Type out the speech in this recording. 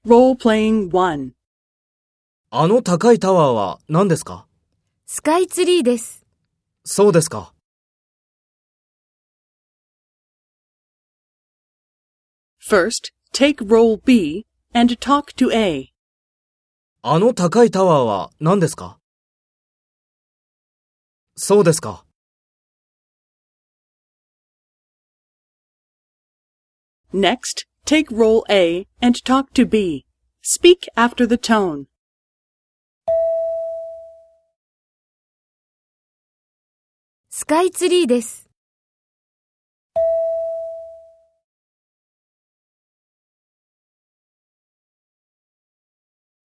Role-playing 1. あの高いタワーは何ですか？ スカイツリーです。 そうですか。 First, take role B and talk to A. あの高いタワーは何ですか？そうですか。 Next, take role A and talk to B. Speak after the tone. スカイツリーです。